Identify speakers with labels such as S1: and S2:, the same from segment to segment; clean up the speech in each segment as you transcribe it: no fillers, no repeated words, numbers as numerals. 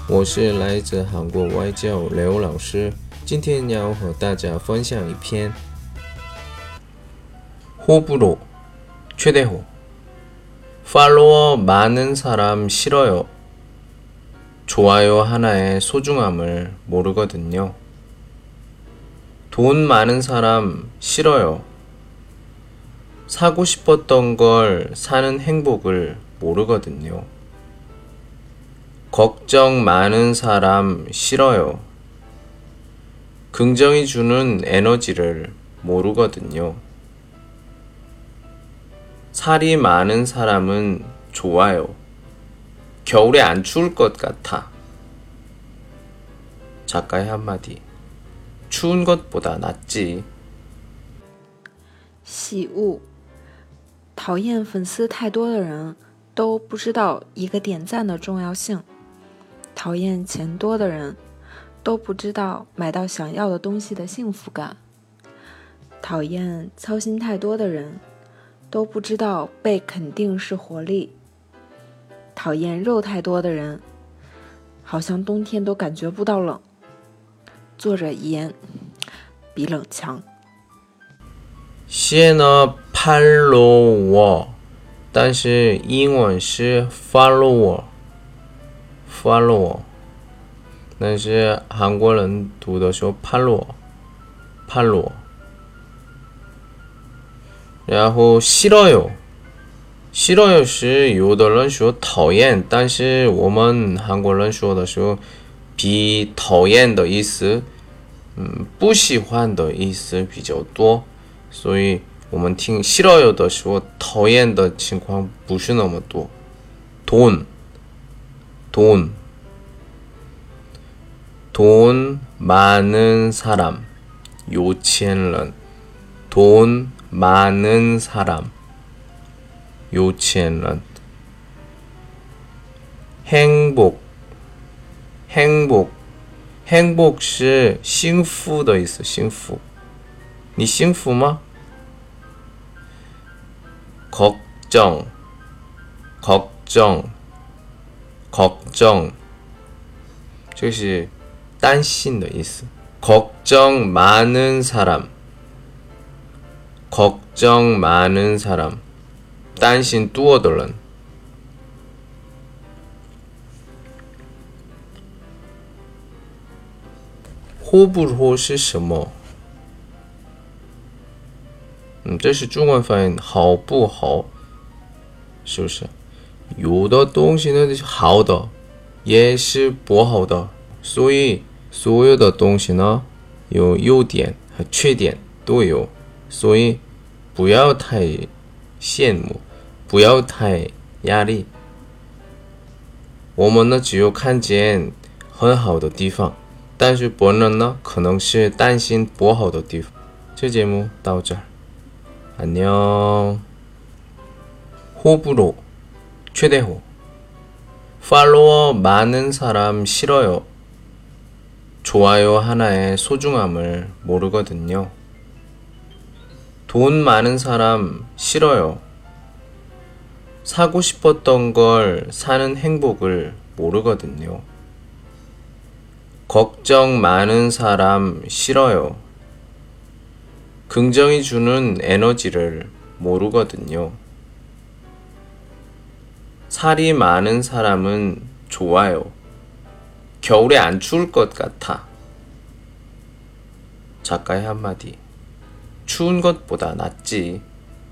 S1: 我是来自韩国外教刘老师，今天要和大家分享一篇호불호 최대호 팔로워 많은 사람 싫어요. 좋아요 하나의 소중함을 모르거든요. 돈 많은 사람 싫어요. 사고 싶었던 걸 사는 행복을 모르거든요. 걱정 많은 사람 싫어요. 긍정이 주는 에너지를 모르거든요. 살이 많은 사람은 좋아요. 겨울에 안 추울 것 같아. 작가의 한마디. 추운 것보다 낫지.
S2: 喜恶，讨厌粉丝太多的人都不知道一个点赞的重要性。讨厌钱多的人都不知道买到想要的东西的幸福感。讨厌操心太多的人都不知道被肯定是活力。讨厌肉太多的人好像冬天都感觉不到冷。作者遗言，比冷强。
S1: 写呢 follower， 但是英文是 follower， 但是韩国人读的时候 follower。然后싫어요， 싫어요是有的人说讨厌，但是我们韩国人说的时候比讨厌的意思不喜欢的意思比较多，所以我们听싫어요的时候讨厌的情况不是那么多。돈 많은 사람有钱人。돈 많은 사람有钱人。행복是幸福的意思，幸福。你幸福吗？걱정这是担心的意思。걱정 많은 사람担心多的人。호불호是什么？这是中文翻译好不好，是不是？有的东西呢是好的，也是不好的，所以所有的东西呢有优点和缺点都有，所以不要太羡慕，不要太压力。我们呢只有看见很好的地方，但是别人呢可能是担心不好的地方。这节目到这儿，안녕。호불호 최대호 팔로워 많은 사람 싫어요. 좋아요 하나의 소중함을 모르거든요. 돈 많은 사람 싫어요. 사고 싶었던 걸 사는 행복을 모르거든요. 걱정 많은 사람 싫어요. 긍정이 주는 에너지를 모르거든요. 살이 많은 사람은 좋아요. 겨울에 안 추울 것 같아. 작가의 한마디. 추운 것보다 낫지.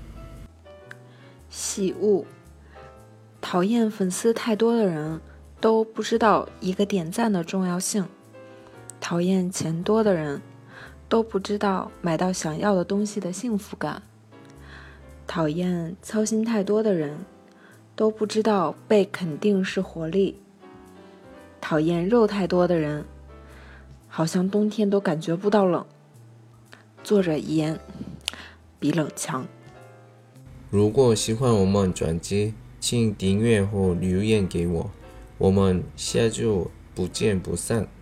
S2: 喜恶，讨厌粉丝太多的人都不知道一个点赞的重要性。讨厌钱多的人都不知道买到想要的东西的幸福感。讨厌操心太多的人都不知道被肯定是活力。讨厌肉太多的人好像冬天都感觉不到冷。作者遗言，比冷强。
S1: 如果喜欢我们专辑，请订阅或留言给我，我们下周不见不散。